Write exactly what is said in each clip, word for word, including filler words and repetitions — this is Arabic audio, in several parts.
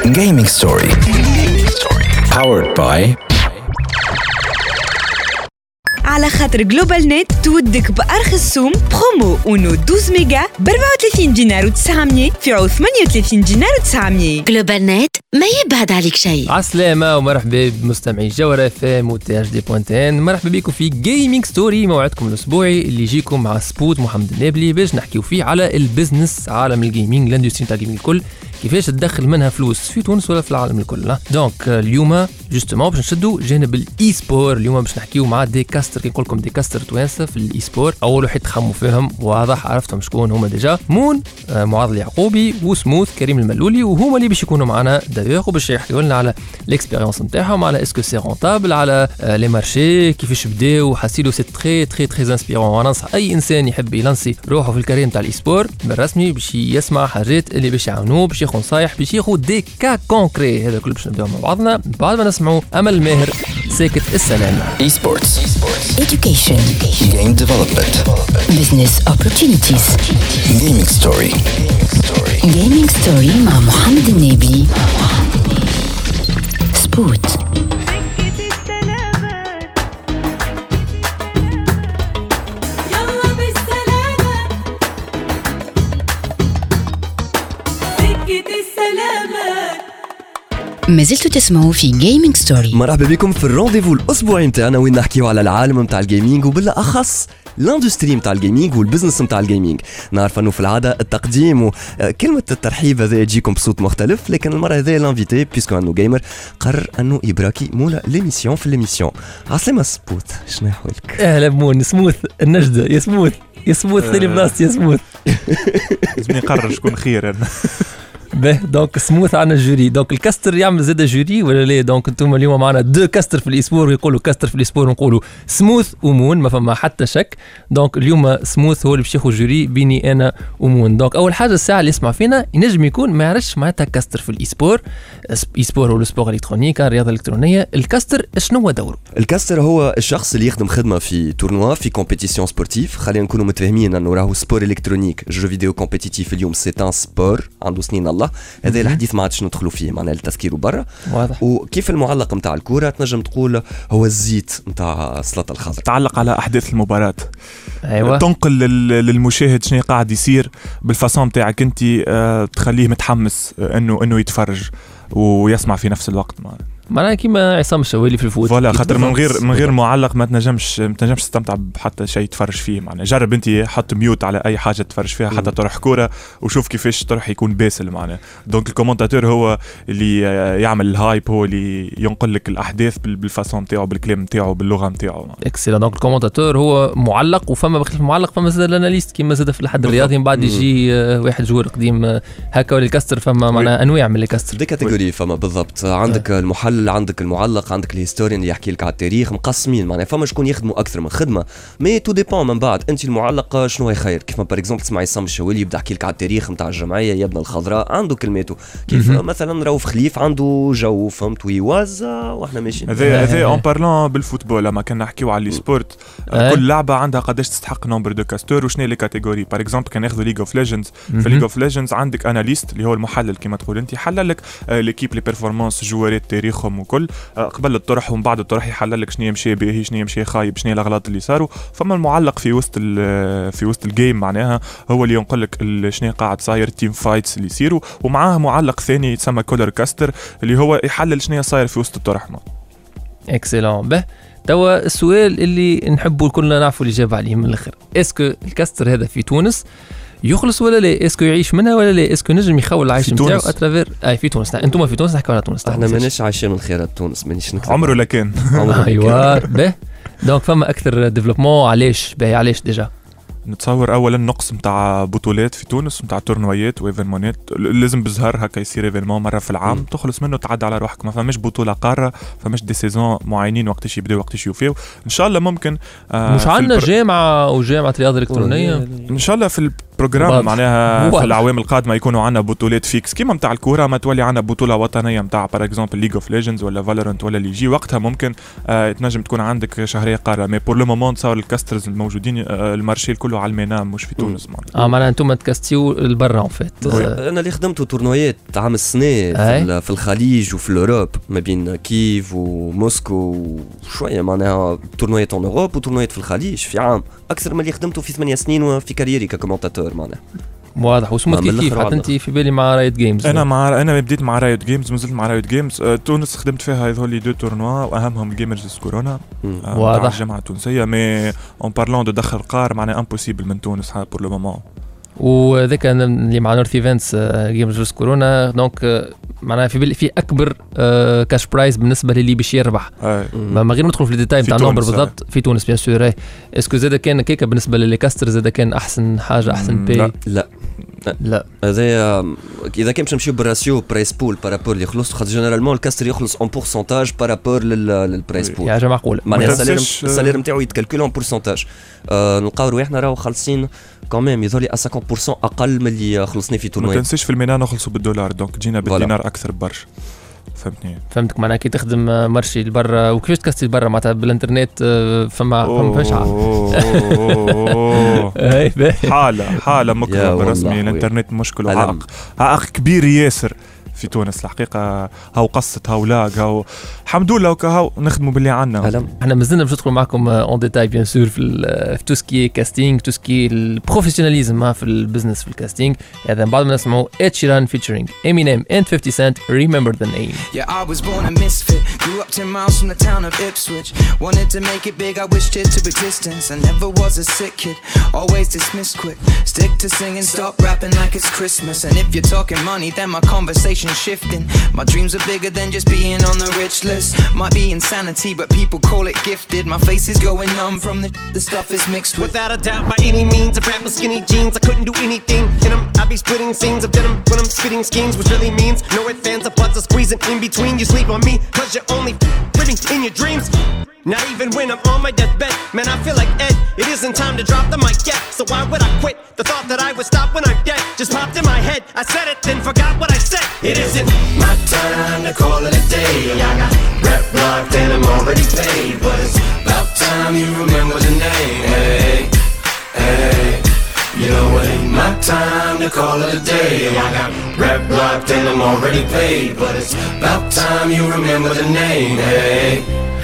Gaming Story. Powered by على خاطر جلوبال نت تودك بأرخص سوم برومو اونو اثنا عشر ميجا ب أربعة وثلاثين دينار وتسعمية في عوض ثمانية وثلاثين دينار وتسعمية. جلوبال نت ما يبعد عليك شيء. عسلامة ومرحبا بمستمعي جوهرة اف ام و تي اش دي بوينت ان. مرحبا بكم في جيمنج ستوري، موعدكم الاسبوعي اللي يجيكم مع سبوت محمد النابلي باش نحكيو فيه على البيزنس، عالم الجيمنج، الاندستري تاع الجيمنج الكل، كيفاش تدخل منها فلوس في تونس ولا في العالم الكل. دونك اليوم جوستومون باش نشدوا جانب الاي سبور. اليوم باش نحكيو مع دي كاستر، كي نقول لكم دي كاستر توانسه في الاي سبور. اول واحد تخموا فيهم واضح عرفتهم شكون هما ديجا، مون آه معاذ اليعقوبي وسموث كريم الملولي، وهما اللي باش يكونوا معنا دايوغ وباش يحكيوا لنا على ليكسبيريونس نتاعهم، على اسكو سي رونتابل، على آه لي مارشي كيفاش بداو. حسيلو سي تري تري تري انسبيرون، وانا ننصح اي انسان يحب يلانسي روحه في الكارير نتاع الاي سبور بالرسمي باش يسمع حاجات اللي باش يعاونوه، باش ياخذ نصايح، باش ياخذ دي كا كونكري. هذا كله باش نبداو مع بعضنا بعد ما نسمعوا امل ماهر ساكت السلام. Esports, Education. Game Development, Business Opportunities. Gaming Story. Gaming Story مع محمد النابلي. سبوت. ما زلتوا تسمعوا في جيمنج ستوري. مرحبا بكم في الرونديفو الاسبوعي نتاعنا وين نحكيو على العالم نتاع الجيمنج وبالاخص الاندستري نتاع الجيمنج والبزنس نتاع الجيمنج. نعرف انه في العاده التقديم وكلمه الترحيب هذا يجيكم بصوت مختلف، لكن المره هذه لانفيتي بيسكو انه جيمر قرر انه يبراكي مولا ليميسيون في ليميسيون. عسلامه سبوت، شنو احوالك؟ اهلا بمون سموث النجده يا سموث يا سموث ثاني بلاصتي يا سموث. لازم نقرر شكون خير انا. به دونك سموث عنا الجوري، دونك الكاستر يعمل زاد جوري ولا لا؟ دونك انتم اليوم معنا دو كاستر في الاسبور، يقولوا كاستر في الاسبور ونقولوا سموث ومون، ما فما حتى شك. دونك اليوم سموث هو اللي باش ياخذ جوري بيني انا ومون. دونك اول حاجه الساعه اللي يسمع فينا ينجم يكون ما يعرفش معناتها كاستر في الاسبور. اسبور هو السبور الكترونيك، الرياضه الالكترونيه. الكاستر شنو هو دوره؟ الكاستر هو الشخص اللي يخدم خدمه في تورنوا في كومبيتيسيون سبورتيف. خلينا نكونوا متفاهمين انه راهو سبور الكترونيك جو فيديو كومبيتيتيف اليوم سي ان سبور عنده سنين الله. هذا الحديث ما عادش ندخلوا فيه معناها التفكير برا. واضح. وكيف المعلق نتاع الكره تنجم تقول هو الزيت نتاع السلطه الخضراء، تعلق على احداث المباراه. ايوه، تنقل للمشاهد شنو قاعد يصير بالفاسون تاعك انت، أه تخليه متحمس انه انه يتفرج ويسمع في نفس الوقت. معناها كيما عصام الشوالي في الفوت فوالا، خاطر من غير من غير معلق ما تنجمش ما تنجمش تستمتع بحتى شيء تفرج فيه. معناها جرب انت حط ميوت على اي حاجه تفرج فيها حتى تروح كوره وشوف كيفاش تروح يكون باسل. معناها دونك الكومنتاتور هو اللي يعمل الهايب، هو اللي ينقل لك الاحداث بالفاسون نتاعو، بالكلام نتاعو، باللغه نتاعو. اكسلون. دونك الكومنتاتور هو معلق، وفما بخلاف المعلق فما زاد الاناليست كيما زاد في الحد الرياضي. من بعد يجي واحد جوار قديم هكا ولا الكاستر. فما معناها انواع من الكاستر، دي كاتيجوري. فما بالضبط عندك آه. المحلل، عندك المعلق، عندك الهيستوريان اللي يحكي لك على التاريخ. مقسمين معناها فما شكون يخدموا اكثر من خدمه، مي تو ديبون من بعد انت المعلق شنو هي خير. كيف ما باغ اكزومبل تسمعي عصام الشوالي يبدا يحكي لك على التاريخ نتاع الجمعيه يا ابن الخضراء، عنده كلماته. كيف م-م. مثلا رؤوف خليف عنده جو فهمت ويوازا واحنا ماشيين. هذا هذا اون بارلون بالفوتبول لما كنا نحكيو على السبورت. كل لعبه عندها قداش تستحق نمبر دو كاستور وشنو لي كاتيجوري. باغ اكزومبل كان ناخذوا ليج اوف ليجندز، في ليج اوف ليجندز عندك اناليست اللي هو المحلل كما تقول انت، يحلل لك ليكيب لي بيرفورمانس جوارات تاريخهم وكل قبل الطرح ومن بعد الطرح يحلل لك شنو يمشي باهي شنو يمشي خايب شنو الاغلاط اللي صاروا. فما المعلق في وسط في وسط الجيم معناها هو اللي ينقل لك شنو قاعد صاير، تيم فايتس اللي يصيروا، ومعاه معلق ثاني يتسمى كولر كاستر اللي هو يحلل شنو صاير في وسط الطرح. اكسلون. به توا السؤال اللي نحبوا كلنا نعرفوا الإجابة عليه من الآخر، اسكو الكاستر هذا في تونس يخلص ولا لا؟ اسكو يعيش منها ولا لا؟ اسكو نجم يخول العيش نتاعو اترافير اي في تونس؟ انتم في تونس، نحكوا على تونس. احنا ماناش عايشين من خيرات تونس، مانيش نكذب. عمره لكان ايوه. به دونك فما اكثر ديفلوبمون. علاش باهي؟ علاش ديجا نتصور اولا نقص نتاع بطولات في تونس، نتاع تورنويات وايفينمونات. لازم بزهر هكا يصير ايفينمون مره في العام م. تخلص منه تعدى على روحك. ما فماش بطوله قاره، فماش دي سيزون معينين وقتاش يبداو وقتاش يوفيو. ان شاء الله ممكن آه مش عندنا البر... جامعه او جامعه رياضه الكترونيه ان شاء الله في بروجرام معناها في الاعوام القادمه يكونوا عندنا بطولات فيكس كيما نتاع الكوره، ما تولي عندنا بطوله وطنيه نتاع بار اكزومبل ليج اوف ليجندز ولا فالورانت ولا اللي يجي وقتها ممكن آه تنجم تكون عندك شهريه قاره. مي بور لو مومون تصور الكاسترز الموجودين آه المارشي كله على الميناء مش في تونس اه معناها انتم تكاستيو لبرا اون فيت. انا اللي خدمته تورنويات عام السنه في, في الخليج وفي الاوروب ما بين كييف وموسكو وشويه معناها تورنويات اون اوروب وتورنويات في الخليج في عام اكثر من اللي خدمته في ثمانية سنين وفي كاريري ككومنتاتور معناها. واضح. وسموث كيف كيف حتى انت في بالي مع رايت جيمز؟ انا مع انا بديت مع رايت جيمز مازلت مع رايت جيمز. أه تونس خدمت فيها هذول لي دو تورنوا واهمهم الجيمرز كورونا أه واضح الجامعه التونسيه. مي اون بارلون دو دخل قار معناها امبوسيبل من تونس بور لو مومون. وذاك اللي مع نورث ايفنتس جيمرز كورونا دونك معناها في في اكبر آه كاش برايز بالنسبه للي باش يربح. ما غير ندخل في الديتاي نتاع النمبر بالضبط في تونس بيان سور. اسكو زاد كان كيكا بالنسبه للكاستر زاد كان احسن حاجه احسن باي؟ لا لا لا هذا اذا كان باش نمشيو بالراسيو برايس بول بارابور اللي يخلص خاطر جينيرالمون الكاستر يخلص اون بورسنتاج بارابور للبرايس بول. يا حاجه معقوله معناها السالير السالير نتاعو يتكالكول اون بورسنتاج. آه نلقاو رواحنا راهو خالصين كمان يظهر ا خمسين بالمية اقل من اللي خلصني في تورنوي. ما تنسيش في الميناء نخلصوا بالدولار دونك جينا بالدينار اكثر برشا. فهمتني فهمتك. معناها كي تخدم مارشي لبرا وكيفاش تكستي لبرا معناتها بالانترنت فما فما فاش حاله حاله مكرم رسمي. الانترنت مشكل وعائق عائق كبير ياسر في تونس الحقيقه. هاو قصت هاو لاق هاو الحمد لله وكهو نخدموا باللي عنا. احنا مازلنا باش ندخلوا معكم اون ديتاي بيان سور في في تو سكي كاستينغ تو سكي البروفيسيوناليزم في البزنس في الكاستينغ. هذا بعد ما نسمعوا Ed Sheeran featuring Eminem and fifty cent Remember the Name. Yeah, I was born a misfit, grew up ten miles from the town of Ipswich. Wanted to make it big, I wished it to existence. I never was a sick kid, always dismissed quick. Stick to singing, stop rapping like it's Christmas. And if you're talking money, then my conversation shifting. My dreams are bigger than just being on the rich list. Might be insanity, but people call it gifted. My face is going numb from the the stuff is mixed with. Without a doubt, by any means, if rap was skinny jeans, I couldn't do anything in them. I'd be splitting scenes of denim when I'm spitting schemes, which really means no ifs, fans, or buts, or squeezing in between. You sleep on me, cause you're only living in your dreams. Not even when I'm on my deathbed, man, I feel like Ed. It isn't time to drop the mic yet, so why would I quit? The thought that I would stop when I'm dead just popped in my head. I said it, then forgot what I said. It isn't my time to call it a day. I got rep blocked and I'm already paid, but it's about time you remember the name. Hey, hey, you know it ain't my time to call it a day. I got rep blocked and I'm already paid, but it's about time you remember the name. Hey.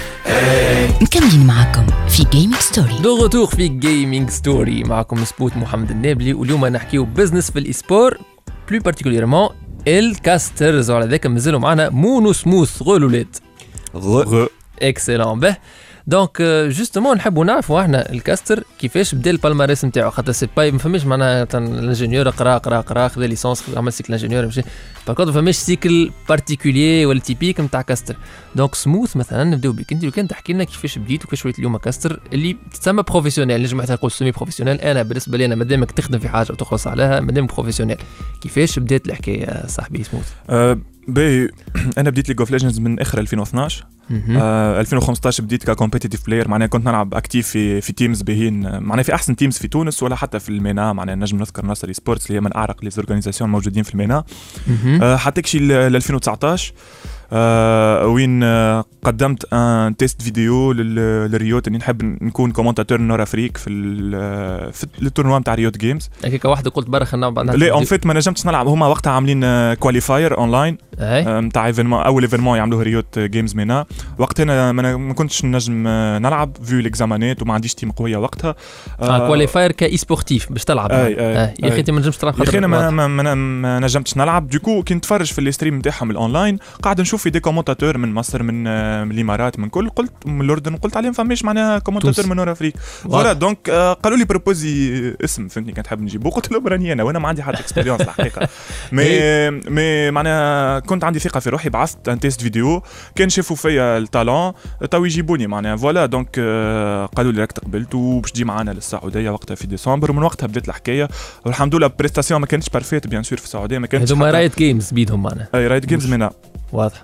مكملين معكم في جيمنج ستوري. دو غوتور في جيمنج ستوري معكم سبوت محمد النابلي. واليوم نحكيو بزنس في الاسبور بلو بارتيكوليرمون الكاسترز. وعلى ذاك مازالوا معنا مونو سموث غولولات غ اكسلون. به دونك جوستومون نحبوا نعرفوا احنا الكاستر كيفاش بدا البالماريس نتاعو. خاطر سي باي ما فماش معناها الانجينيور قرا قرا قرا خذا ليسونس عمل سيكل انجينيور ماشي باكوت ما فماش سيكل بارتيكولير ولا تيبيك نتاع كاستر. دونك سموث مثلا نبداو بك انت لو كان تحكي لنا كيفاش بديت وكيفاش وليت اليوم كاستر اللي تسمى بروفيسيونيل. نجم حتى نقول سيمي بروفيسيونيل. انا بالنسبه لي انا مادامك تخدم في حاجه وتخلص عليها مادامك بروفيسيونيل. كيفاش بدات الحكايه صاحبي سموث؟ أه باهي انا بديت ليج اوف ليجندز من اخر ألفين واثناش. آه ألفين وخمسطاش بديت ككومبيتيتيف بلاير. معناها كنت نلعب اكتيف في في تيمز باهين معناها في احسن تيمز في تونس ولا حتى في المينا. معناها نجم نذكر نصر سبورتس اللي هي من اعرق لي زورغانيزاسيون موجودين في المينا. آه حتى كشي ل ألفين وتسعطاش آه وين آه قدمت ان تيست فيديو للريوت اني نحب نكون كومنتاتور نور افريك في في التورنوا نتاع ريوت جيمز. هكاك واحد قلت برا نلعب. لا اون فيت ما نجمتش نلعب. هما وقتها عاملين كواليفاير اونلاين نتاع ايفينمون اول ايفينمون يعملوه ريوت جيمز مينا. وقتها انا ما كنتش نجم نلعب فيو ليكزامانات وما عنديش تيم قويه وقتها. اه كواليفاير كاي سبورتيف باش تلعب. اي اي آه. يا اخي انت ما نجمش تلعب. يا اخي انا ما, ما, ما, ما نجمتش نلعب. دوكو كي نتفرج في الستريم نتاعهم الاونلاين قاعد نشوف في دي كومونتاتور من مصر من من الامارات من كل قلت من الاردن قلت عليهم فماش معناها كومونتاتور من نور افريك. فوالا دونك آه قالوا لي بروبوزي اسم فهمتني كنت حاب نجيبو. قلت لهم راني انا وانا ما عندي حتى اكسبيريونس الحقيقه. مي مي معناها كنت عندي ثقه في روحي. بعثت ان تيست فيديو كان شافوا فيا التالون تو يجيبوني معناها. فوالا دونك آه قالوا لي راك تقبلت وباش تجي معنا للسعوديه وقتها في ديسمبر. ومن وقتها بدات الحكايه والحمد لله. بريستاسيون ما كانتش بارفيت بيان سور في السعوديه ما كانتش. هذوما رايت جيمز بيدهم معنا. اي رايت جيمز منا واضح.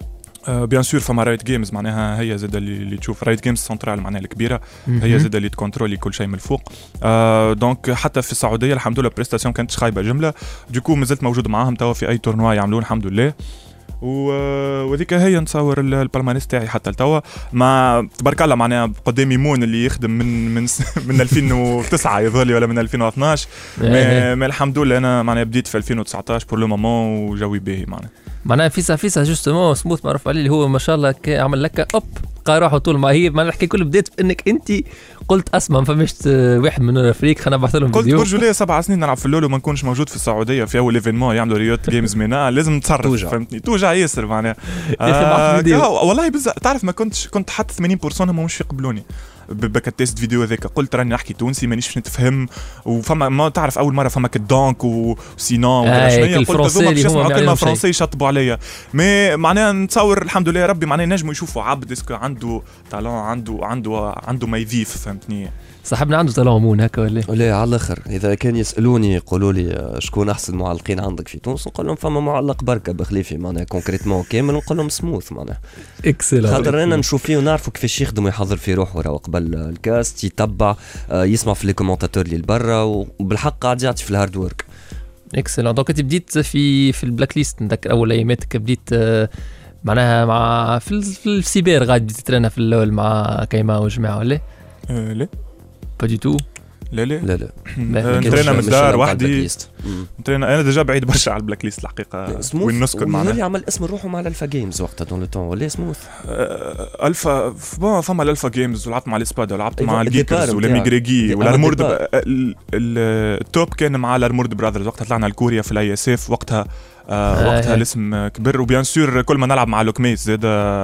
بيان سور فما رايت جيمز معناها هي زاد اللي, اللي تشوف رايت جيمز سنترال معناها الكبيره هي زاد اللي تكونترولي كل شيء من الفوق. آه دونك حتى في السعوديه الحمد لله بريستاسيون كانت خايبه جمله دوكو مازلت موجود معاهم توا في اي تورنوا يعملون الحمد لله. وذيك هي نصور البالمانيس تاعي حتى لتوا مع تبارك الله معناها قدامي مون اللي يخدم من من من ألفين وتسعة يظهر لي ولا من ألفين واثناش ما الحمد لله انا معناها بديت في ألفين وتسعطاش بور لو مومون وجوي باهي معناها معناها فيسا فيسا جوستومون سموث معروف عليه اللي هو ما شاء الله عمل لك اوب بقى روحه طول ما هي ما نحكي كل بديت انك انت قلت اسمع ما فماش واحد من الافريق خلينا نبعث لهم فيديو قلت برجوليه سبع سنين نلعب في اللول وما نكونش موجود في السعوديه في اول ايفينمون يعملوا ريوت جيمز مينا لازم نتصرف فهمتني توجع ياسر معناها آه والله بزاف تعرف ما كنتش كنت حتى ثمانين بالمية هم مش يقبلوني بكتست فيديو هذاك قلت راني نحكي تونسي مانيش باش نتفهم وفما ما تعرف اول مره فما كدونك وسينون ولا شنو قلت هذوما باش يسمعوا كلمه فرنسي يشطبوا عليا مي معناها نتصور الحمد لله ربي معناها نجموا يشوفوا عبد اسكو عنده تالون عنده عنده عنده ما يضيف فهمتني صاحبنا عنده تالون مون هكا ولا لا على الاخر اذا كان يسالوني يقولوا لي شكون احسن معلقين عندك في تونس نقول لهم فما معلق بركه بخليفي معناها كونكريتمون كامل نقول لهم سموث معناها اكسلون خاطر انا نشوف فيه ونعرفوا كيفاش يخدم ويحضر في روحه وراه قبل الكاست يتبع يسمع في لي كومونتاتور اللي لبرا وبالحق قاعد يعطي في الهارد ورك اكسلون دونك انت بديت في في البلاك ليست نذكر اول اياماتك بديت معناها مع في, في السيبر غادي بديت تترينا في الاول مع كيما وجماعه ولا أه لا با دي تو لا لا لا لا نترينا من الدار وحدي نترينا انا ديجا بعيد برشا على البلاك ليست الحقيقه وين نسكن معنا اللي عمل اسم روحه مع الالفا جيمز وقتها دون لو طون ولا سموث الفا بون فما الالفا جيمز ولعبت مع الاسبادا ولعبت مع الجيكرز والميغريغي والارمورد التوب كان مع الارمورد براذرز وقتها طلعنا لكوريا في الاي اس اف وقتها آه وقتها الاسم كبر وبيان سور كل ما نلعب مع لوكميس زاد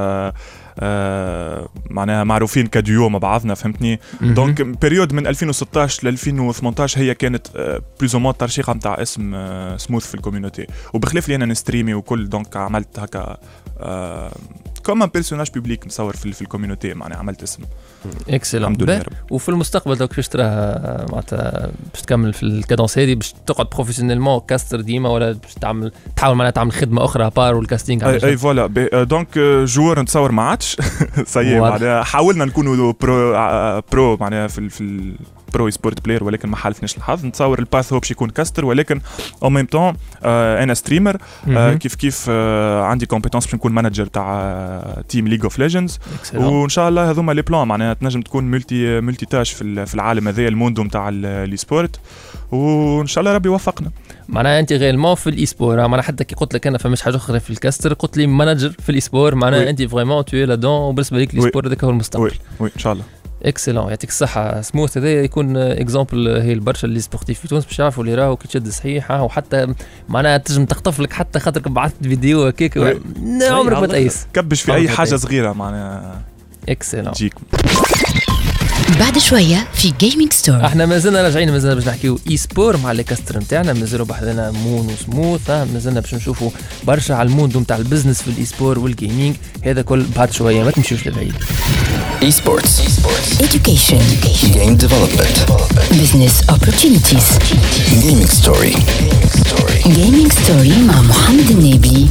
آه معناها معروفين كديو مع بعضنا فهمتني دونك بيريود من ألفين وستطاش ل ألفين وثمنطاش هي كانت آه بلوز او مون ترشيقه نتاع اسم آه سموث في الكوميونيتي وبخلاف لي انا نستريمي وكل دونك عملت هكا آه كوم ان بيرسوناج بوبليك مصور في, في الكوميونيتي معناها عملت اسم اكسلون وفي المستقبل دوك كيفاش تراها معناتها باش تكمل في الكادونس هذه باش تقعد بروفيسيونيلمون كاستر ديما ولا باش تعمل تحاول معناتها تعمل خدمه اخرى بار والكاستينغ اي, أي فوالا دونك جوور نتصور ما عادش سي معناها حاولنا نكونوا برو برو معناها في في برو سبورت بلاير ولكن ما حالفناش الحظ نتصور الباث هو باش يكون كاستر ولكن او ميم طون انا ستريمر آه كيف كيف آه عندي كومبيتونس باش نكون مانجر تاع تيم ليج اوف ليجندز وان شاء الله هذوما لي بلان معناها تنجم تكون ملتي ملتي تاش في في العالم هذا الموندو نتاع الاي سبورت وان شاء الله ربي يوفقنا معناها انت غيرمون في الاي سبور معناها حتى كي قلت لك انا فماش حاجه اخرى في الكاستر قلت لي مانجر في الاي سبور معناها انت فريمون تو لا دون وبالنسبه لك الاي سبور هذاك هو المستقبل وي ان شاء الله اكسلون يعطيك الصحه سموث هذا يكون اكزامبل هي البرشا اللي سبورتيف في تونس باش يعرفوا اللي راهو كي تشد صحيح وحتى معناها تنجم تخطف لك حتى خاطرك بعثت فيديو هكاك عمرك ما تقيس كبش في اي حاجه صغيره معناها اكسلون تجيك بعد شويه في جيمنج ستور احنا مازلنا راجعين مازلنا باش نحكيو اي سبور مع لي كاستر نتاعنا مازالوا بحذنا مون وسموث مازلنا باش نشوفوا برشا على الموندو نتاع البزنس في الاي سبور والجيمنج هذا كل بعد شويه ما تمشيوش لبعيد Esports, education, game development, business opportunities, gaming story, gaming story مع محمد النبي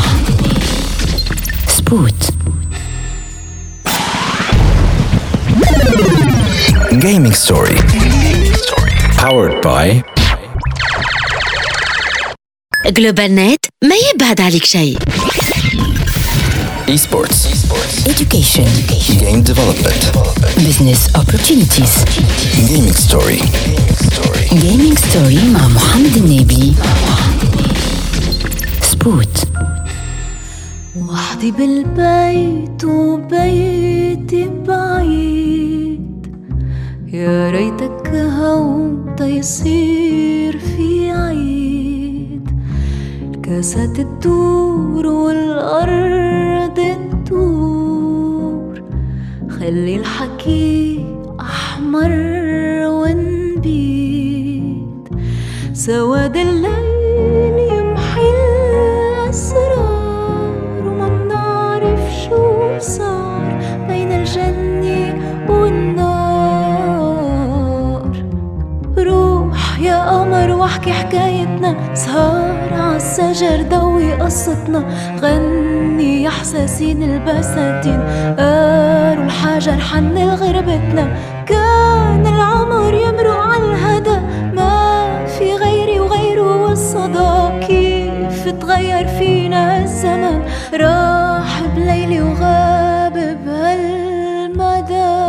سبوت gaming story, powered by جلوبال نت ما يبعد عليك شيء esports, education, game development, business opportunities, gaming story, gaming story مع محمد النبي سبوت وحدي بالبيت وبيتي بعيد يا ريتك هون تيصير في عيد الكاسات تدور والأرض تدور خلي الحكي أحمر ونبيد سواد الليل يمحي الأسرار وما بنعرف شو صار بين الجنة والنار روح يا قمر واحكي حكايتنا سهر عالسهر عالسجر ضوي قصتنا، غني يا حساسين البساتين، قاروا الحجر حن غربتنا، كان العمر يمرق عالهدى، ما في غيري وغيره والصدى، كيف تغير فينا الزمن، راح بليلي وغاب بهالمدى.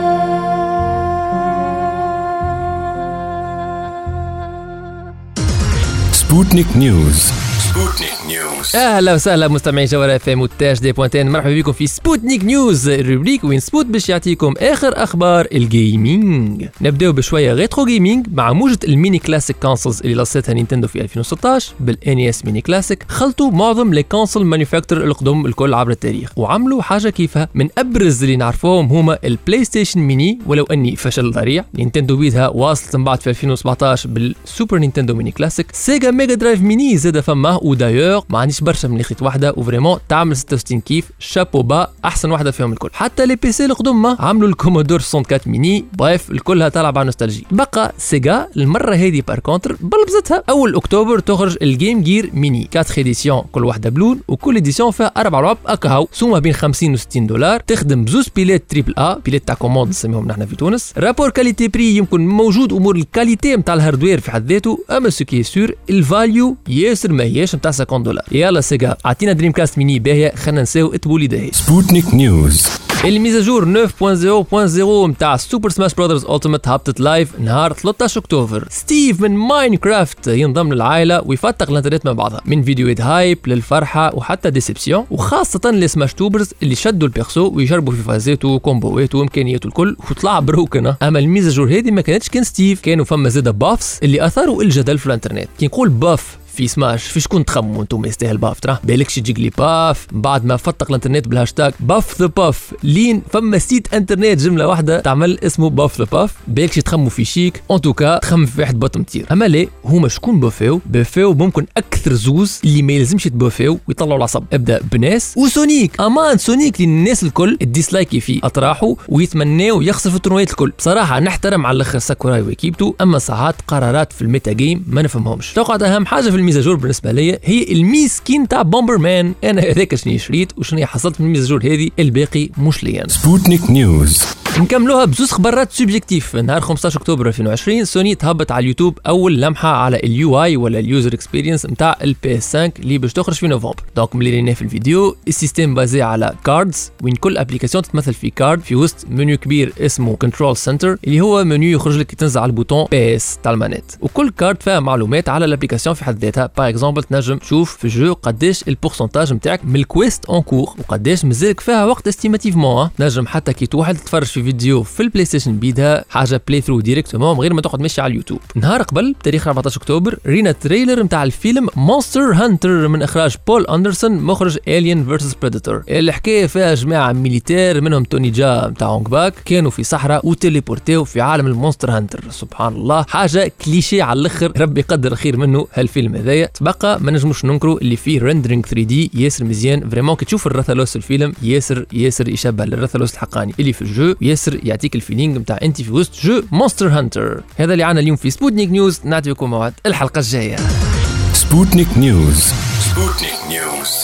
سبوتنيك نيوز. سبوتنيك نيوز. اهلا وسهلا مستمعي جوهرة اف ام وتاج دي بوانتين، مرحبا بكم في سبوتنيك نيوز، الروبريك وين سبوت باش يعطيكم اخر اخبار الجيمنج. نبداو بشويه ريترو جيمنج مع موجه الميني كلاسيك كونسولز اللي لصتها نينتندو في ألفين وستطاش بالان اس ميني كلاسيك. خلطوا معظم لي كونسول مانيفاكتور القدم الكل عبر التاريخ وعملوا حاجه كيفها. من ابرز اللي نعرفوهم هما البلاي ستيشن ميني، ولو اني فشل ذريع. نينتندو بيدها واصلت من بعد في ألفين وسبعطاش بالسوبر نينتندو ميني كلاسيك. سيجا ميجا درايف ميني زاد فماه، ودايور ما عنديش برشا من خيط واحده وفريمون تعمل ستة وستين كيف، شابو با احسن واحده فيهم الكل. حتى لي بي سي القدم عملوا الكومودور أربعة وستين ميني، بريف الكلها تلعب على نوستالجي. بقى سيجا المره هذه بار كونتر بلبزتها، اول اكتوبر تخرج الجيم جير ميني أربعة اديسيون، كل واحده بلون وكل اديسيون فيها اربع لعب اكاو، سوما بين خمسين و ستين دولار. تخدم بزوز بيلات تريبل ا، بيلات تاع كوموند نسميهم نحن في تونس. رابور كاليتي بري يمكن موجود، امور الكاليتي نتاع الهاردوير في حد ذاته، اما سوكي سور الفاليو ياسر ما هياش نتاع خمسين دولار. يلا سيجا اعطينا دريم كاست ميني باهيه، خلينا نساو اتبولي داهي. سبوتنيك نيوز. الميزاجور تسعة صفر صفر صفر متاع سوبر سماش برادرز التيمت هبطت لايف نهار ثلاثة عشر اكتوبر. ستيف من ماينكرافت ينضم للعائله ويفتق الانترنت مع بعضها، من فيديوهات هايب للفرحه وحتى ديسبسيون، وخاصه لسماش توبرز اللي شدوا البيرسو ويجربوا في فازاته وكومبوواته وامكانياته الكل وطلع بروكنه. اما الميزاجور هذه ما كانتش كان ستيف، كانوا فما زاده بافس اللي اثاروا الجدل في الانترنت. كي نقول باف في سماش في شكون تخموا انتم يستاهل باف؟ ترى بالكش تجيك لي باف بعد ما فتق الانترنت بالهاشتاج باف ذا باف، لين فما سيت انترنت جمله واحده تعمل اسمه باف ذا باف. بالكش تخموا في شيك، ان توكا تخمم في واحد بطم تير. اما لا، هما شكون بافيو؟ بافيو ممكن اكثر زوز اللي ما يلزمش يتبافيو ويطلعوا العصب. ابدا بناس وسونيك، امان سونيك للناس الكل الديسلايكي فيه اطراحه ويتمناو يخسف التورنيات الكل. بصراحه نحترم على الاخر ساكوراي وكيبتو، اما ساعات قرارات في الميتا جيم ما نفهمهمش. توقعت اهم حاجه في الميزاجور بالنسبه لي هي الميسكين تاع بومبر مان. انا هذاك شنو شريت وشنو حصلت من الميزاجور هذه، الباقي مش ليا. سبوتنيك نيوز. نكملوها بزوز خبرات سوبجيكتيف. نهار خمسة عشر اكتوبر ألفين وعشرين سوني تهبط على اليوتيوب اول لمحه على اليو اي ولا اليوزر اكسبيرينس نتاع البي اس خمسة اللي باش تخرج في نوفمبر. دونك ملي رينا في الفيديو السيستم بازي على كاردز، وين كل ابليكاسيون تتمثل في كارد في وسط منيو كبير اسمه كنترول سنتر، اللي هو منيو يخرج لك تنزل على البوتون بي اس تاع المانيت، وكل كارد فيها معلومات على الابليكاسيون في حد ذاتها. باغ اكزومبل تنجم تشوف في الجو قداش البورسنتاج نتاعك من الكويست اون كور وقداش مازالك فيها وقت استيماتيفمون. نجم حتى كي توحد تتفرج في فيديو في البلاي ستيشن بيدها حاجه بلاي ثرو ديريكتومون من غير ما تقعد ماشي على اليوتيوب. نهار قبل بتاريخ أربعة عشر اكتوبر رينا تريلر نتاع الفيلم مونستر هانتر من اخراج بول اندرسون مخرج الين فيرسس بريدتور. الحكايه فيها جماعه ميليتير منهم توني جا نتاع هونغ باك كانوا في صحراء وتليبورتيو في عالم المونستر هانتر. سبحان الله، حاجه كليشيه على الاخر، ربي يقدر خير منه هالفيلم هذايا. تبقى ما نجموش ننكروا اللي فيه ريندرينغ ثري دي ياسر مزيان، فريمون كي تشوف الرثلوس الفيلم ياسر ياسر يشبه للرثلوس الحقاني اللي في الجو، ياسر يعطيك الفيلينغ نتاع انت في وسط جو مونستر هانتر. هذا اللي عنا اليوم في سبوتنيك نيوز، نعطيكم موعد الحلقه الجايه. سبوتنيك نيوز. سبوتنيك نيوز.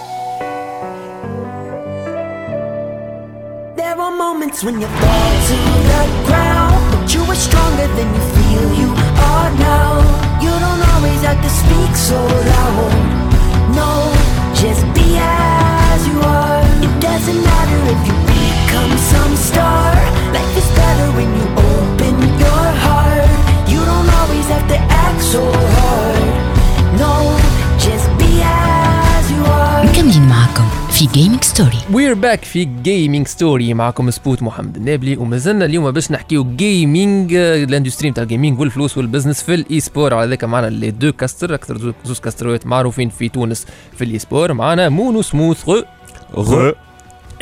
There are moments when you fall to the ground, but you are stronger than you feel you are now. You don't always have to speak so loud. No, just be as you are. It doesn't matter if you become some star. Life is better when you open your heart. You don't always have to act so hard. No, just be as you are. مكملين معكم في جيمنج ستوري. وير باك في جيمنج ستوري، معكم سبوت محمد النابلي، ومازلنا اليوم باش نحكيو جيمنج، الاندستري نتاع الجيمنج والفلوس والبزنس في الاي سبور. على ذاك معنا لي دو كاستر، اكثر زوز كاستروات معروفين في تونس في الاي سبور. معنا مونو سموث غو غو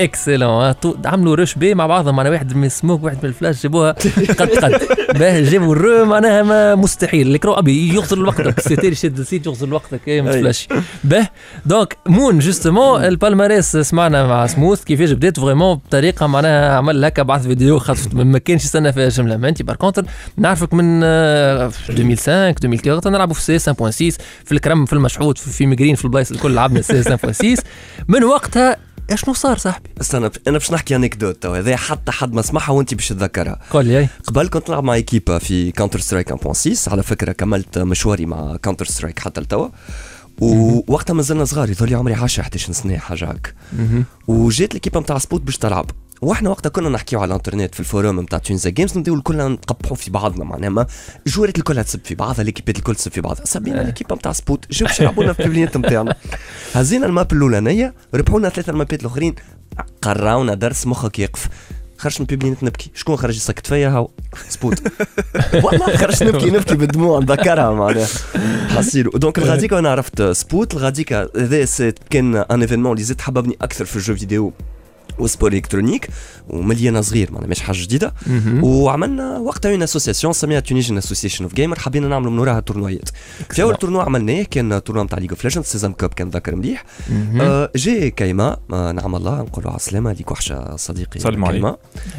اكسلون. عملوا روش بي مع بعضهم، معناها واحد من السموك واحد من الفلاش جابوها قد قد باه جابوا الرو معناها ما مستحيل الكرو ابي يغزر الوقت سيتير شد السيت يغزر الوقت كي ما تفلاش باه. دونك مون جوستومون البالماريس سمعنا مع سموث كيفاش بدات فريمون بطريقه معناها عمل هكا بعض فيديو خاطر ما كانش يستنى فيها جمله. ما انت بار كونتر نعرفك من ألفين وخمسة ألفين وأربعة نلعبوا في سي خمسة فاصلة ستة في الكرم في المشحوط في ميغرين في البلايص الكل لعبنا سي خمسة فاصلة ستة. من وقتها اشنو صار صاحبي؟ استنى انا باش نحكي انكدوت تو هذا حتى حد ما سمعها وانت باش تتذكرها. قول لي. قبل كنت نلعب مع ايكيبا في كاونتر سترايك واحد فاصلة ستة، على فكره كملت مشواري مع كاونتر سترايك حتى لتوا، ووقتها مازلنا صغار يظل لي عمري عشرة إحدى عشرة سنه حاجه هكا. وجات الكيبا نتاع سبوت باش تلعب، واحنا وقتها كنا نحكيو على الانترنت في الفوروم نتاع تونس جيمز، نبداو الكل نقبحوا في بعضنا معناها ما الجوارات الكل تسب في بعضها، ليكيبات الكل تسب في بعضها. سبينا ليكيبا نتاع سبوت جاو باش يلعبونا في البليات نتاعنا، هزينا الماب الاولانيه ربحوا لنا ثلاثه المابات الاخرين، قراونا درس مخك يقف. خرجت من البيبلينات نبكي، شكون خرج يسكت فيا؟ هاو سبوت والله خرجت نبكي نبكي بالدموع نذكرها معناها حصيرو. دونك الغاديكا انا عرفت سبوت. الغاديكا هذا كان ان ايفينمون اللي زاد حببني اكثر في الجو فيديو وسبور الكترونيك ومليانه صغير معناها مش حاجه جديده. وعملنا وقتها اون اسوسياسيون سميها تونيجن اسوسيشن اوف جيمر، حبينا نعملوا من وراها تورنويات. في اول تورنوا عملناه كان تورنوا نتاع ليج اوف ليجندز سيزون كاب، كان ذاكر مليح. آه جي كايما آه نعم الله نقولوا على السلامه ليك وحشه صديقي كايما،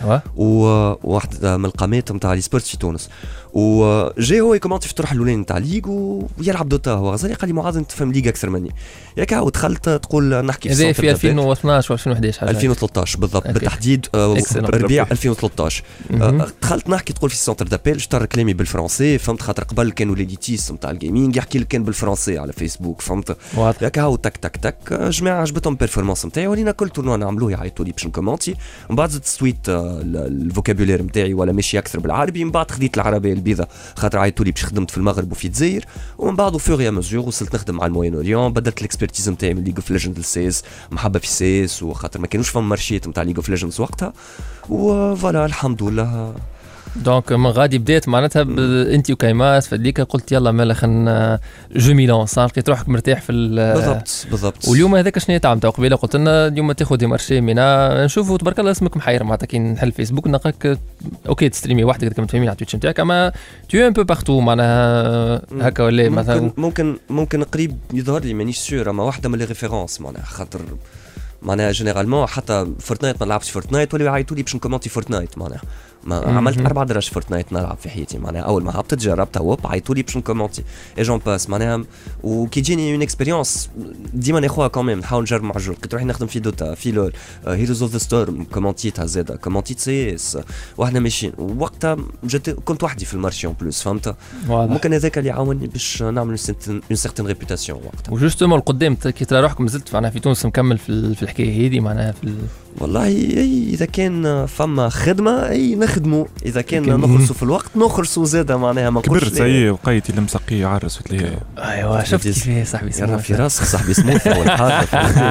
وواحد من القامات نتاع لي سبورت في تونس. وجاي هو يكومونتي في الطرح الاولاني نتاع ليغ ويلعب دوتا، هو غزالي قال لي معاذ انت تفهم ليغ اكثر مني ياك. هاو دخلت تقول نحكي في هذا في ألفين واثناش و ألفين وأحد عشر ألفين وثلاثة بالضبط بالتحديد، ربيع ألفين وثلاثة عشر. دخلت نحكي تقول في السنتر دابيل، شطر كلامي بالفرنسي فهمت، خاطر قبل كانوا ليديتيس نتاع الجيمنج يحكي لك كان بالفرنسي على فيسبوك فهمت ياك. هاو تك تك تك جماعه عجبتهم البيرفورمانس نتاعي، ولينا كل تورنوا نعملوه يعيطوا لي باش نكومونتي، ومن بعد زدت سويت الفوكابولير نتاعي ولا ماشي اكثر بالعربي، من بعد خديت العربيه البيضاء خاطر عيطوا لي باش خدمت في المغرب وفي الجزائر، ومن بعد فوريا مزور وصلت نخدم مع الموين اوريون، بدلت الاكسبرتيز نتاعي من ليج اوف ليجند لسيس، محبه في سيس وخاطر ما كانوش فما مارشيت نتاع ليج اوف ليجندز وقتها، وفوالا الحمد لله. دونك من غادي بديت معناتها انت وكايماس فديك قلت يلا مالا خلينا جو ميلان صار لقيت روحك مرتاح في بالضبط بالضبط. واليوم هذاك شنو تعمل قبيله قلت لنا اليوم تاخذ دي مارشي منا نشوفوا تبارك الله اسمك محير معناتها كي نحل فيسبوك نلقاك اوكي تستريمي وحدك كما تفهمين على تويتش نتاعك، اما تو ان بو بارتو معناها هكا ولا مثلا ممكن ممكن ممكن قريب يظهر لي مانيش سور، اما واحده من لي ريفيرونس معناها خاطر معناها جينيرالمون حتى فورتنايت ما نلعبش فورتنايت ولا يعيطوا لي باش نكومونتي فورتنايت معناها ما عملت اربع درج فورتنايت نلعب في حياتي معناها اول ما هبطت جربتها وب عيطوا لي باش نكومونتي اي جون باس معناها وكي تجيني اون اكسبيريونس ديما ناخذها كوميم نحاول نجرب مع الجو. كنت روحي نخدم في دوتا في لول هيروز اوف ذا ستورم كومونتيتها زاده كومونتيت سي اس واحنا ماشيين وقتها جت كنت وحدي في المارشي اون بلوس فهمت ممكن هذاك اللي عاوني باش نعمل اون سيرتين ريبيوتاسيون وقتها. وجوستومون القدام كي ترى روحك مازلت معناها في تونس مكمل في, في الحكايه هذه معناها في ال... والله اي اذا كان فما خدمه اي نخدموا، اذا كان نخلصوا في الوقت نخلصوا زاده معناها ما نقولش كبرت زي وقيتي المسقيه عرس لي. ايوا شفت كيف صاحبي يرى في راسك صاحبي سموث اول حاجه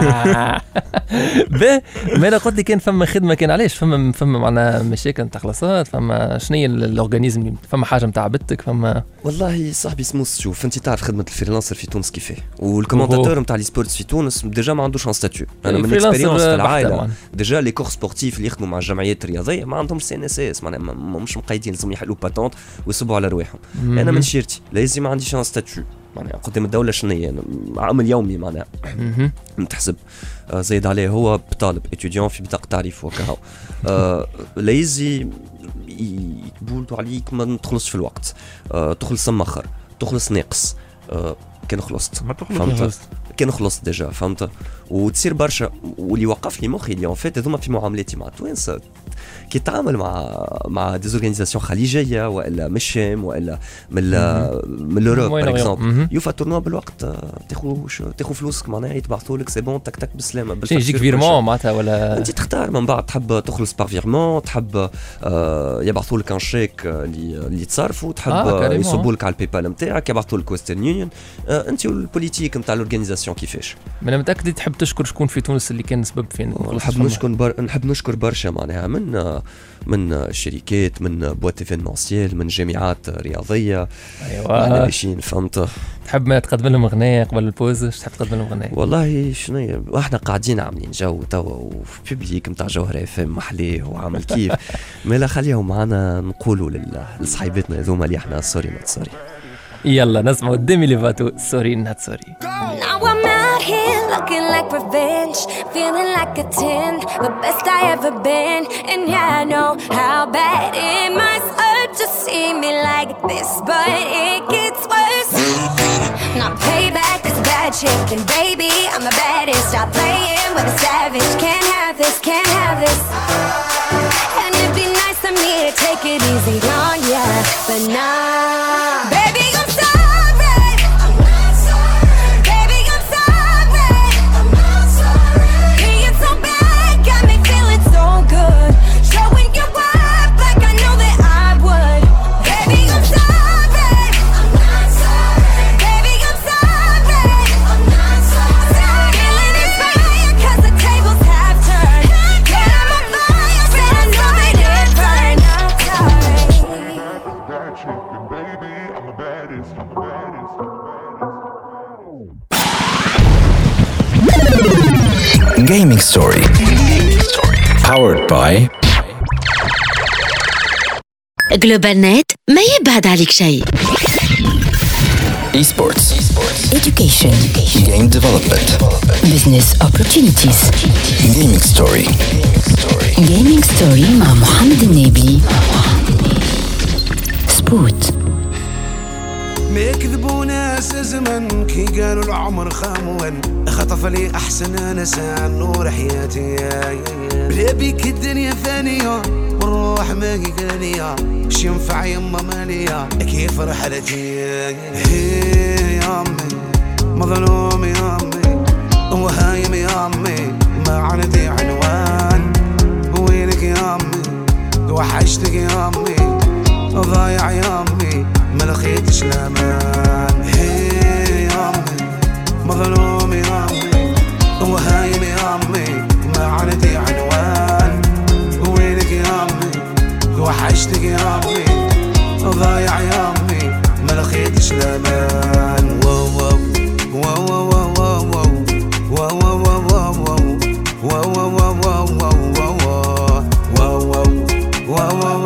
به ما انا قلت لي كان فما خدمه كان علاش فما فما معنا مشاكل نتاع خلاصات فما شنو هي الاورغانيزم فما حاجه نتاع بتك فما والله صاحبي سموث شوف انت تعرف خدمه الفريلانسر في تونس كيفاه والكومونتاتور نتاع لي سبورتس في تونس ديجا ما عندوش ان ستاتيو. انا من الاكسبيريونس في العائله ديجا لي كور سبورتيف اللي يخدموا مع الجمعيات الرياضيه ما عندهمش سي ان اس اس معناها مش مقيدين لازم يحلوا باتونت ويصبوا على رواحهم. انا من شيرتي لازم ما عنديش ان ستاتيو معناها قدام الدوله شنو هي عمل يومي معناها نتحسب آه زايد عليه هو طالب اتيديون في بطاقه تعريف وكهو آه لازم يتبولدوا عليك ما تخلصش في الوقت آه تخلص مخر تخلص ناقص آه كان خلصت ما تخلص كان خلصت ديجا فهمت وتصير برشا. واللي وقف لي مخي اللي اون فيت هذوما في معاملاتي مع توانسه كي تعامل مع مع ديزورغانيزاسيون خليجيه والا من الشام والا من من اوروب باغ اكزومبل يوفا تورنوا بالوقت تاخذ تاخذ فلوسك معناها يتبعثوا لك سي بون تك تك بالسلامه يجيك فيرمون معناتها ولا انت تختار من بعد تحب تخلص بار فيرمون تحب آه يبعثوا لك ان شيك اللي اللي تصرفوا تحب آه يصبوا لك على الباي بال نتاعك يبعثوا لك ويسترن يونيون آه انت والبوليتيك نتاع الاورغانيزاسيون كيفاش. انا متاكد تحب تشكر شكون في تونس اللي كان سبب فين نحب نشكر بر... نحب نشكر برشا معناها من من من شركات، من بوات ايفينمونسيال، من جامعات رياضيه. ايوه احنا عايشين فهمت. تحب ما تقدم لهم اغنيه قبل البوز؟ ايش تحب تقدم لهم اغنيه؟ والله شنو واحنا قاعدين عاملين جو توا وفي بيبليك نتاع جوهره فم محليه وعامل كيف مالا خليهم معنا نقولوا لصحيبتنا هذوما اللي احنا سوري نوت سوري. يلا نسمعوا ديمي ليفاتو سوري نوت سوري. Now I'm out here looking like revenge, feeling like a ten, the best I ever been. And yeah, I know how bad it must hurt to see me like this, but it gets worse. Now payback is a bad chick, and baby, I'm the baddest. Stop playing with a savage, can't have this, can't have this. And it'd be nice of me to take it easy on ya, but nah, baby, I'm sorry. Gaming Story powered by Global Net ما يبعد عليك شيء. Esports, Education, Game Development, Business Opportunities. Gaming Story. Gaming Story مع محمد النبي. سبوت. ما يكذبوا ناس زمن كي قالوا العمر خامون، خطف لي احسن انا ساعة نور حياتي بلا بيك الدنيا فانية والروح ما هي غالية، اش ينفع يما مالية كيف رحلتي هي يا امي مظلوم يا امي وهايم يا امي ما عندي عنوان، وينك يا امي وحشتك يا امي ضايع يا امي ما لقيتش الامان، هي يا امي مظلوم يا امي وهايم يا امي ما عندي عنوان، وينك يا امي وحشتك يا امي ضايع يا امي ما لقيتش الامان. واو واو واو واو واو واو واو واو واو واو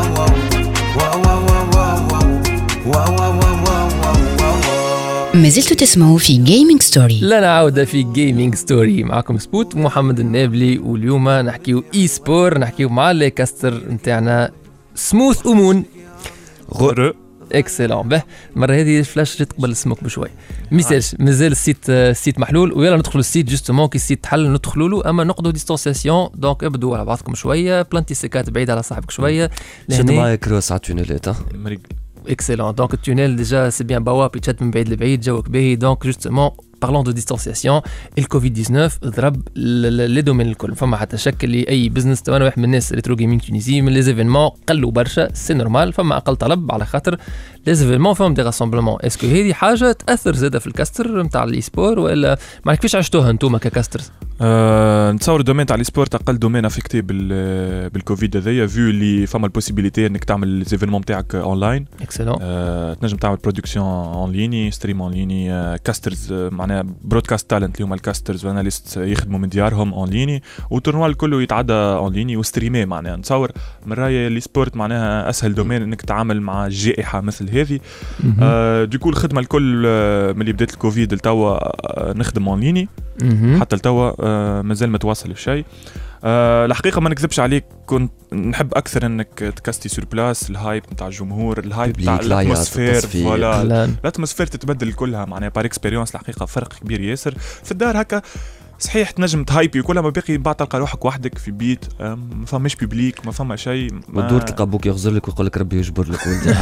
ما زلتوا تسمعوا في جيمنج ستوري. لا نعود في جيمنج ستوري معكم سبوت محمد النابلي، واليوم نحكيو اي سبور، نحكيو مع لي كاستر نتاعنا سموث امون غر اكسلون. به المره هذه فلاش جيت قبل السموك بشوي ميساج مازال السيت السيت محلول، ويلا ندخلوا السيت جوستومون كي السيت تحل ندخلوا له، اما نقعدوا ديستانسياسيون دونك ابدوا على بعضكم شويه، بلانتي سيكات بعيد على صاحبك شويه. شد معايا كروس على التونيلات اكسلون. دونك التونيل ديجا سي بيان بوابي تشد من بعيد لبعيد جوك باهي. دونك جوستومون بارلون دو ديستانسياسيون الكوفيد تسعطاش ضرب لي دومين الكل، فما حتى شك اللي اي بزنس. انا واحد من الناس ريترو جيمنج تونيزي من لي زيفينمون قلوا برشا، سي نورمال، فما اقل طلب على خاطر لي زيفينمون فهم دي راسمبلمون. اسكو هذه حاجه تاثر زاده في الكاستر نتاع الاي سبور ولا ما كيفاش عشتوها انتوما ككاسترز؟ أه نتصور الدومين تاع السبور اقل دومين افكتي بالكوفيد هذايا، فيو اللي فما البوسيبيليتي انك تعمل ليزيفينمون تاعك اونلاين. اكسلون. أه تنجم تعمل برودكسيون اون ليني، ستريم اون ليني، أه كاسترز أه معناها برودكاست تالنت اللي هما الكاسترز واناليست يخدموا من ديارهم اون ليني، والتورنوا الكل يتعدى اون ليني وستريمي. معناها نتصور من رايي السبورت معناها اسهل دومين انك تتعامل مع جائحه مثل هذه. أه ديكو الخدمه الكل أه من اللي بدات الكوفيد لتوا أه نخدم اون ليني حتى لتوا أه مازال متواصل الشيء. أه الحقيقه ما نكذبش عليك، كنت نحب اكثر انك تكاستي سور بلاس، الهايب نتاع الجمهور، الهايب نتاع الاتموسفير، فوالا الاتموسفير تتبدل كلها معناها بار اكسبيريونس. الحقيقه فرق كبير ياسر في الدار هكا، صحيح تنجم تهايبي وكلها، ما باقي بعد تلقى روحك وحدك في بيت، ما فماش بيبليك، ما فما شيء، ما تدور تلقى ابوك يغزر لك ويقول لك ربي يجبر لك ولدي.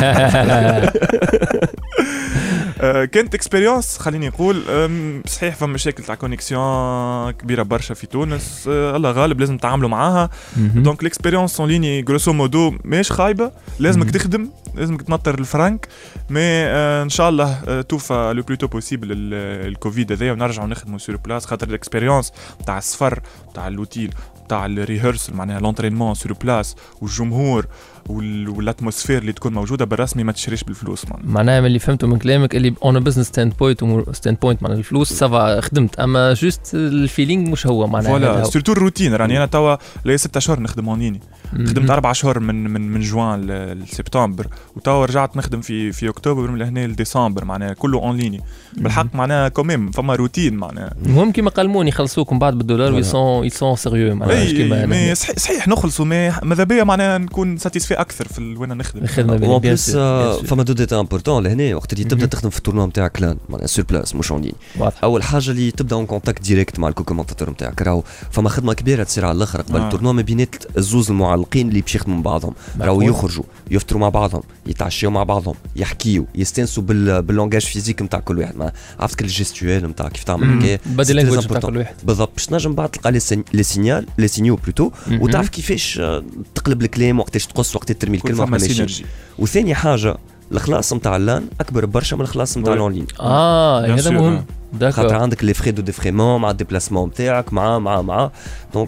كانت اكسبيريونس خليني نقول. صحيح فما مشاكل تاع كونيكسيون كبيره برشا في تونس، الله غالب لازم نتعاملوا معاها. دونك الاكسبيريونس اون ليني غروسو مودو ماهيش خايبه، لازمك تخدم لازمك تنطر الفرنك مي آه ان شاء الله آه توفى لو بلوتو بوسيبل الكوفيد هذا ونرجعوا نخدموا سور بلاس خاطر الاكسبيريونس تاع السفر تاع اللوتيل تاع الريهرسل معناها لونترينمون سور بلاس والجمهور والاتموسفير اللي تكون موجوده بالرسمي ما تشريش بالفلوس معناها. معناها من اللي فهمته من كلامك اللي اون بزنس ستاند بوينت ستاند بوينت معناها الفلوس سافا خدمت اما جوست الفيلينغ مش هو معناها. فوالا سورتو الروتين راني انا توا لي ستة اشهر نخدم اونيني خدمت اربع اشهر من من من جوان لسبتمبر وتوا رجعت نخدم في في اكتوبر من لهنا لديسمبر معناها كله اون ليني بالحق معناها كوميم فما روتين معناها. المهم كيما قالمون يخلصوكم بعد بالدولار ويسون يسون سيريو معناها كيما صحيح نخلصوا مي ماذا بيا معناها نكون ساتيسفي اكثر في وين نخدم. اون بليس فما دو ديتا امبورطون لهنا وقت اللي تبدا تخدم في التورنوا نتاعك لان معناها سور بلاس مش اون لين. اول حاجه اللي تبدا اون كونتاكت ديريكت مع الكومونتاتور نتاعك راهو فما خدمه كبيره تصير على الاخر قبل التورنوا ما بينات الزوز المعلقين اللي باش يخدموا مع بعضهم راهو يخرجوا يفطروا مع بعضهم يتعشوا مع بعضهم يحكيوا يستنسوا بال باللونجاج فيزيك نتاع كل واحد عرفت كل الجيستوال نتاع كيف تعمل هكا بدي لانجويج نتاع كل واحد بالضبط باش تنجم بعد تلقى لي سينيال لي سينيو بلوتو وتعرف كيفاش تقلب الكلام وقتاش تقص وقت ترمي الكلمه ماشي. وثاني حاجه الخلاص نتاع اللان اكبر برشا من الخلاص نتاع الاونلاين. اه هذا مهم خاطر عندك لي فري دو ديفريمون مع الديبلاسمون نتاعك مع مع مع دونك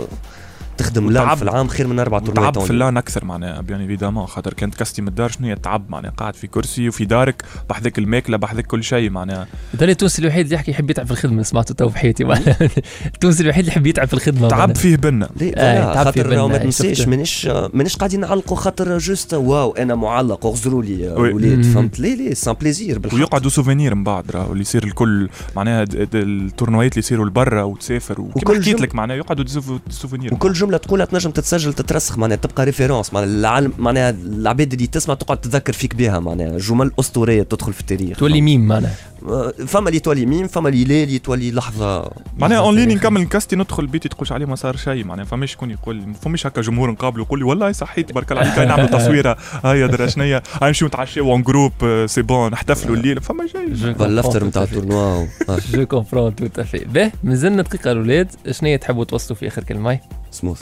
تخدم لان في العام خير من اربع تورنيات. تعب في اللان اكثر معناها بيان ايفيدامون خاطر كانت كاستي من الدار شنو هي التعب معناها قاعد في كرسي وفي دارك بحذاك الماكله بحذاك كل شيء معناها. هذا التونسي الوحيد اللي يحكي يحب يتعب في الخدمه سمعته تو في حياتي معناها. التونسي الوحيد اللي يحب يتعب في الخدمه تعب فيه بنا آه خاطر ما تنساش مانيش مانيش قاعدين نعلقوا خاطر جوست واو انا معلق اغزروا لي ولاد فهمت لي لي سان بليزير ويقعدوا سوفينير من بعد راه اللي يصير الكل معناها التورنويات اللي يصيروا لبرا وتسافر وكيف حكيت لك معناها يقعدوا سوفينير وكل جمله تقولها تنجم تسجل تترسخ معناها تبقى ريفيرونس معناها العالم معناها العباد اللي تسمع تقعد تذكر فيك بها معناها جمل اسطوريه تدخل في التاريخ تولي ميم معناها فما اللي تولي ميم فما اللي اللي تولي لحظه معناها اون لين نكمل الكاستي ندخل بيتي تقولش عليه ما صار شيء معناها فماش شكون يقول فماش هكا جمهور نقابله يقول لي والله صحيت تبارك الله عليك نعمل تصويره هيا درا شنيا نمشيو نتعشاو اون جروب سي بون نحتفلوا الليل فما شيء بالافتر نتاع التورنوا جو كومبرون تو تافي به مازلنا دقيقه الاولاد شنو تحبوا توصلوا في اخر كلمه سموث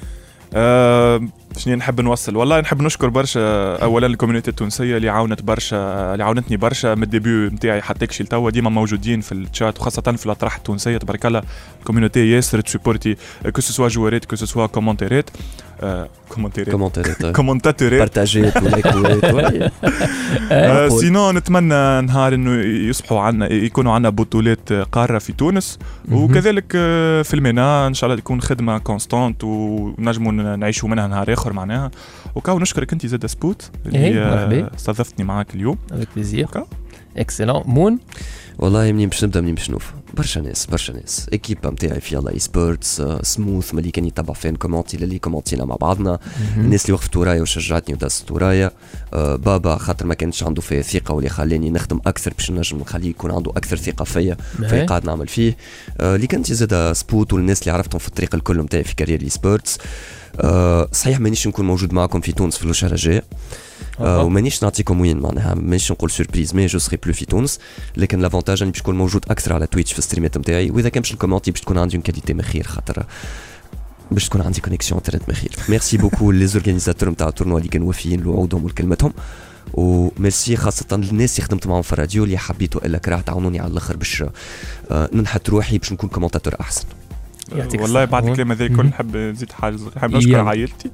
أه شنو نحب نوصل والله نحب نشكر برشا اولا الكوميونيتي التونسيه اللي عاونت برشا اللي عاونتني برشا من الديبيو نتاعي حتى كشي لتوا ديما موجودين في الشات وخاصه في الاطراح التونسيه تبارك الله الكوميونيتي ياسر تسبورتي كو سو سوا جوارات كو سو سوا كومونتيرات كومونتيرات كومونتيرات كومونتاتورات بارتاجيت ولايكوات سينو نتمنى نهار انه يصبحوا عنا يكونوا عنا بطولات قاره في تونس وكذلك في المينا ان شاء الله تكون خدمه كونستانت ونجموا نعيشوا منها نهار اخر معناها وكاو نشكرك انت زاد سبوت اللي استضفتني معاك اليوم افيك بليزير اكسلون مون والله منين باش نبدا منين باش نوف برشا ناس برشا ناس اكيبا نتاعي في يلا اي سبورتس سموث ملي كان يتبع فين كومونتي اللي كومونتينا مع بعضنا الناس اللي وقفت ورايا وشجعتني ودازت ورايا آه بابا خاطر ما كانش عنده فيه ثقه واللي خلاني نخدم اكثر باش نجم نخليه يكون عنده اكثر ثقه فيا في قاعد نعمل فيه آه اللي كنت زاد سبوت والناس اللي عرفتهم في الطريق الكل نتاعي في كارير اي سبورتس آه صحيح مانيش نكون موجود معكم في تونس في الوشهر الجاي آه ومانيش نعطيكم وين معناها مانيش نقول سوربريز مي جو سري بلو في تونس لكن لافونتاج اني باش نكون موجود اكثر على تويتش في الستريمات نتاعي واذا كان باش الكومونتي باش تكون عندي اون كاليتي مخير خاطر باش تكون عندي كونيكسيون انترنت مخير ميرسي بوكو لي زورغانيزاتور نتاع التورنوا اللي كانوا وافيين لوعودهم ولكلمتهم وميرسي خاصة الناس اللي خدمت معهم في الراديو اللي حبيتوا الا كراه تعاونوني على الاخر باش آه ننحت روحي باش نكون كومونتاتور احسن والله بعد الكلام هذا كل نحب نزيد حاجه نحب نشكر عائلتي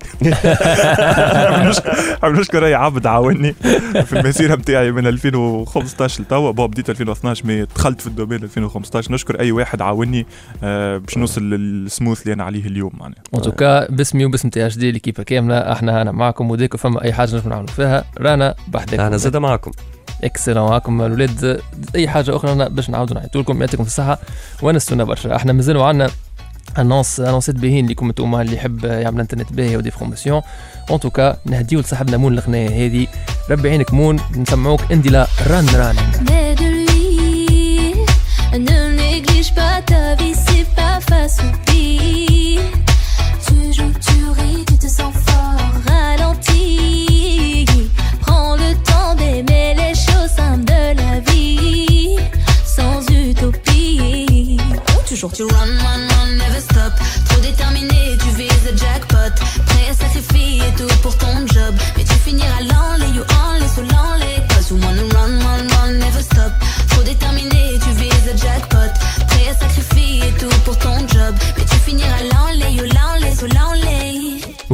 نحب نشكر اي عبد عاوني في المسيره نتاعي من ألفين وخمسطاش لتوا بابا بديت ألفين واثناش مي دخلت في الدومين ألفين وخمسطاش نشكر اي واحد عاوني باش نوصل للسموث اللي انا عليه اليوم معناها ان توكا باسمي وباسم تي اش دي ليكيبا كامله احنا انا معكم وديكو فما اي حاجه نجم نعملوا فيها رانا بحدكم انا زاد معكم اكسلون معكم الاولاد اي حاجه اخرى باش نعاودوا نعيطوا لكم يعطيكم الصحه ونستنى برشا احنا مازالوا عندنا انونس انونسات باهين لكم انتوما اللي يحب يعمل انترنت باهي ودي فورماسيون ان توكا نهديو لصاحبنا مون الغنايه هذه ربي عينك مون نسمعوك اندي ران ران Ne néglige pas ta vie, c'est pas facile. Tu joues, tu ris, tu te sens fort. Ralentis, prends le temps d'aimer les choses simples de la vie, sans utopie. Toujours tu run, run, run, never stop. Trop déterminé, tu vises le jackpot. Prêt à sacrifier tout pour ton job, mais tu finiras l'enlay.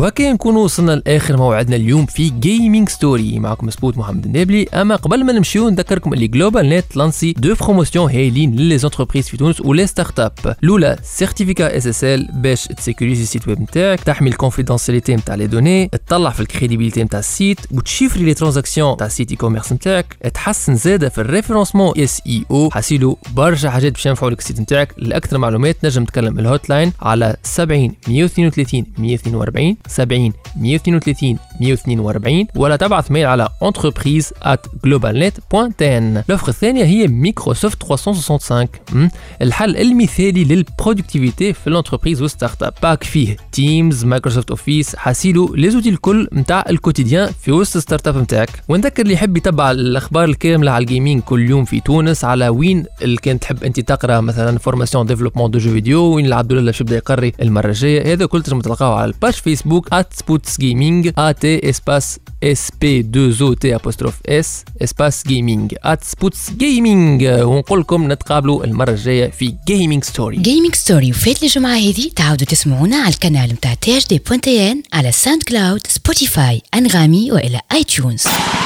وهكا نكون وصلنا لاخر موعدنا اليوم في جيمنج ستوري. معكم سبوت محمد النابلي. اما قبل ما نمشيو نذكركم اللي جلوبال نت لانسي دو بروموسيون هايلين للي زونتربريز في تونس ولي ستارت اب. الاولى سيرتيفيكا اس اس ال باش تسيكوريزي السيت ويب نتاعك، تحمي الكونفيدنسياليتي نتاع لي دوني، تطلع في الكريديبيليتي نتاع السيت وتشيفري لي ترانزاكسيون تاع السيت اي كوميرس نتاعك، تحسن زاده في الريفرنسمون اس اي او. حاسيلو برشا حاجات باش ينفعوا لك السيت نتاعك. لاكثر معلومات نجم تكلم الهوت لاين على سبعين مية واثنين وثلاثين مية واثنين وأربعين سبعين مية واثنين وثلاثين مية واثنين وأربعين، ولا تبعث ميل على entreprise at globalnet دوت ten. الأوفر الثانية هي مايكروسوفت ثلاثمية وخمسة وستين، الحل المثالي للبرودكتيفيتي في الانتربريز والستارت اب. باك فيه تيمز، مايكروسوفت اوفيس، حاسيلو لي زوتي الكل نتاع الكوتيديان في وسط الستارت اب نتاعك. ونذكر اللي يحب يتبع الاخبار الكامله على الجيمنج كل يوم في تونس على وين اللي كان تحب انت تقرا مثلا فورماسيون ديفلوبمون دو جو فيديو، وين العبد الله باش يبدا يقري المره الجايه. هذا كل تنجم تلقاوه على الباج فيسبوك @spotsgaming at espace sp deux o t apostrophe s espace gaming @spotsgaming. ونقول لكم نتقابلوا المره الجايه في جيمنج ستوري. جيمنج ستوري وفات الجمعه هذه تعاودوا تسمعونا على القناه نتاع تي اش دي بوان تي ان على ساوند كلاود، سبوتيفاي، انغامي والى اي تيونز.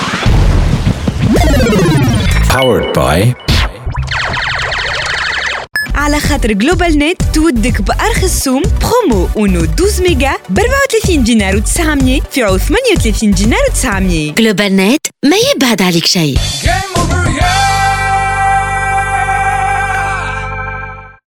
Powered by على خاطر جلوبال نت تودك بأرخص سوم برومو اونو اثنا عشر ميجا ب أربعة وثلاثين دينار وتسعمية في عوض ثمانية وثلاثين دينار وتسعمية. جلوبال نت ما يبعد عليك شيء.